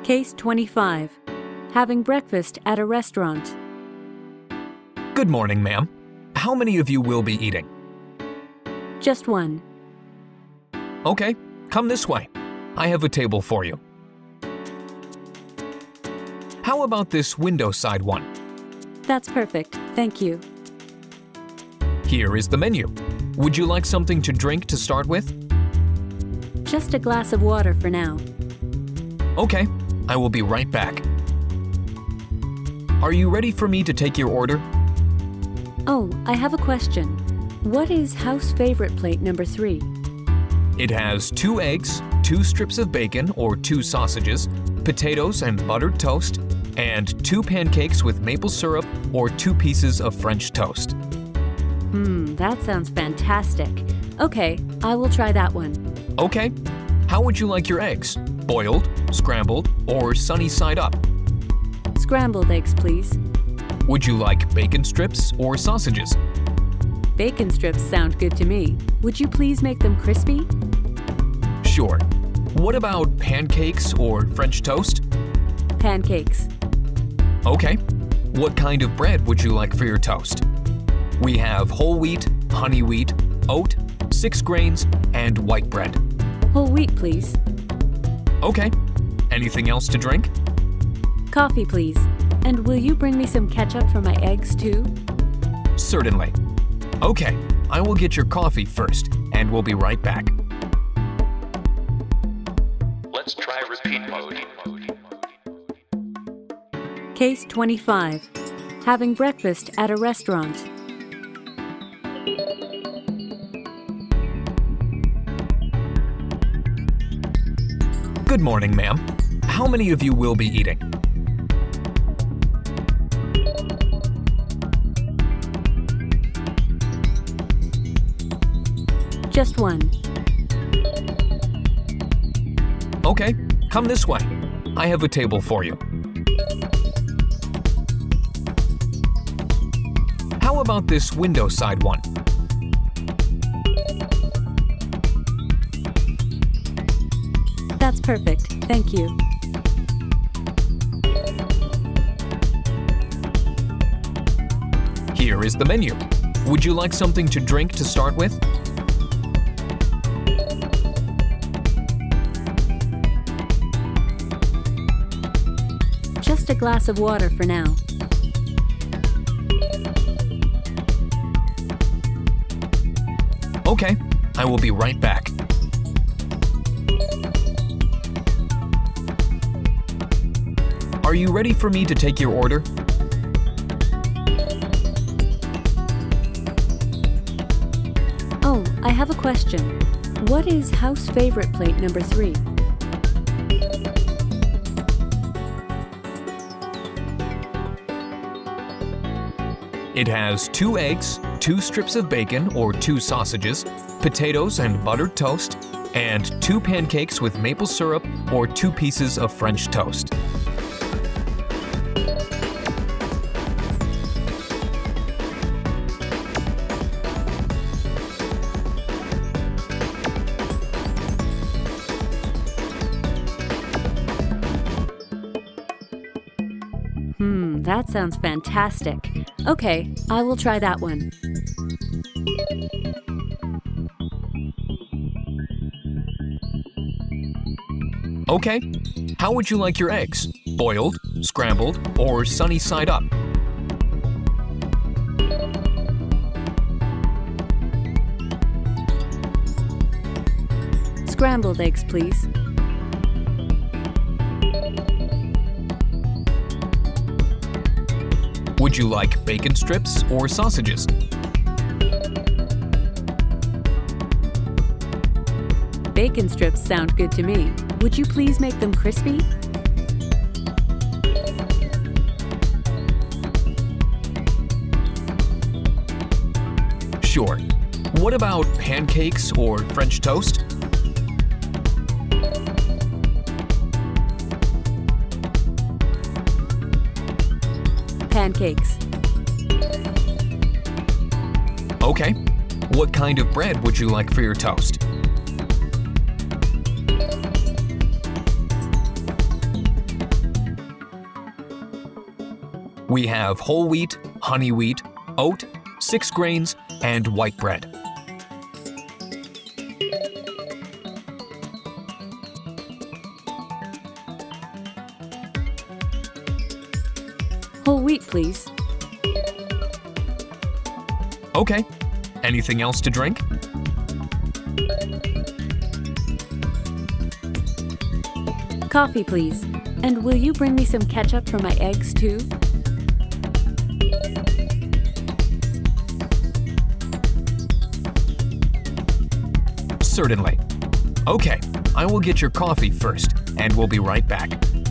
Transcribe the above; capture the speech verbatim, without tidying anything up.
Case twenty-five. Having breakfast at a restaurant. Good morning, ma'am. How many of you will be eating? Just one. Okay, come this way. I have a table for you. How about this window side one? That's perfect, thank you. Here is the menu. Would you like something to drink to start with? Just a glass of water for now. Okay, I will be right back. Are you ready for me to take your order? Oh, I have a question. What is house favorite plate number three? It has two eggs, two strips of bacon or two sausages, potatoes and buttered toast, and two pancakes with maple syrup or two pieces of French toast. Hmm, that sounds fantastic. Okay, I will try that one. Okay. How would you like your eggs? Boiled, scrambled, or sunny side up? Scrambled eggs, please. Would you like bacon strips or sausages? Bacon strips sound good to me. Would you please make them crispy? Sure. What about pancakes or French toast? Pancakes. Okay. What kind of bread would you like for your toast? We have whole wheat, honey wheat, oat, six grains, and white bread. Whole wheat, please. Okay. Anything else to drink? Coffee, please. And will you bring me some ketchup for my eggs, too? Certainly. Okay, I will get your coffee first, and we'll be right back. Let's try repeat mode. Case twenty-five. Having breakfast at a restaurant. Good morning, ma'am. How many of you will be eating? Just one. Okay, come this way. I have a table for you. How about this window side one? That's perfect, thank you. Here is the menu. Would you like something to drink to start with? Just a glass of water for now. Okay, I will be right back. Are you ready for me to take your order? Oh, I have a question. What is house favorite plate number three? It has two eggs, two strips of bacon or two sausages, potatoes and buttered toast, and two pancakes with maple syrup or two pieces of French toast. Hmm, that sounds fantastic. Okay, I will try that one. Okay. How would you like your eggs? Boiled, scrambled, or sunny side up? Scrambled eggs, please. Would you like bacon strips or sausages? Bacon strips sound good to me. Would you please make them crispy? Sure. What about pancakes or French toast? Pancakes. Okay. What kind of bread would you like for your toast? We have whole wheat, honey wheat, oat, six grains, and white bread. Whole wheat, please. Okay. Anything else to drink? Coffee, please. And will you bring me some ketchup for my eggs, too? Certainly. Okay, I will get your coffee first, and we'll be right back.